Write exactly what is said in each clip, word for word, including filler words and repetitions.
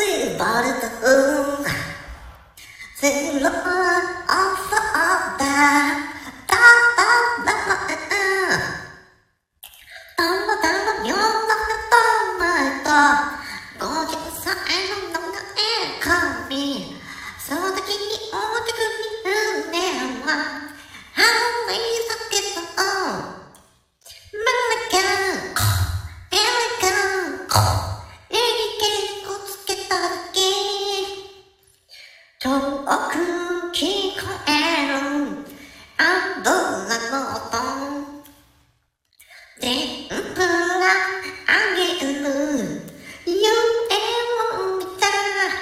シバルトゼロオファーだだだだたまたま世の中と前とごじゅっさいの名前紙その時に大きく見るねはハリーサケットマラカンエレカンエリケをつけただけ遠く聞こえる油の音天ぷらあげる夢を見た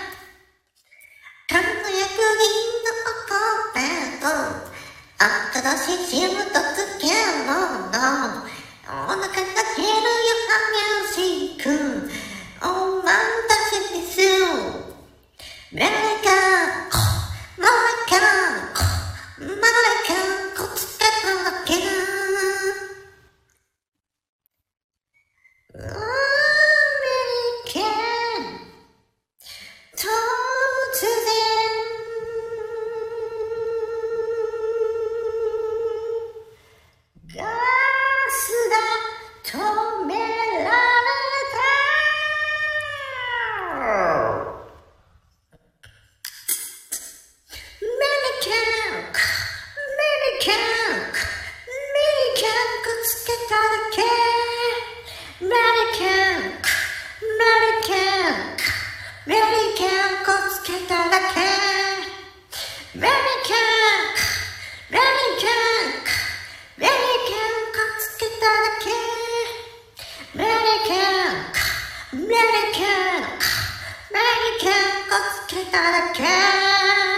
輝く銀のコペと新しいシムとつけるのお腹が減るよ激しくお待たせですメレカマラカマラカこつけただけアメリカ突然ガスが止められたメリカンメリカンメリカンくっつけただけメリカンメリカンメリカンくっつけただけメリカンメリカンメリカンくっつけただけメリカンメリカンメリカンくっつけただけ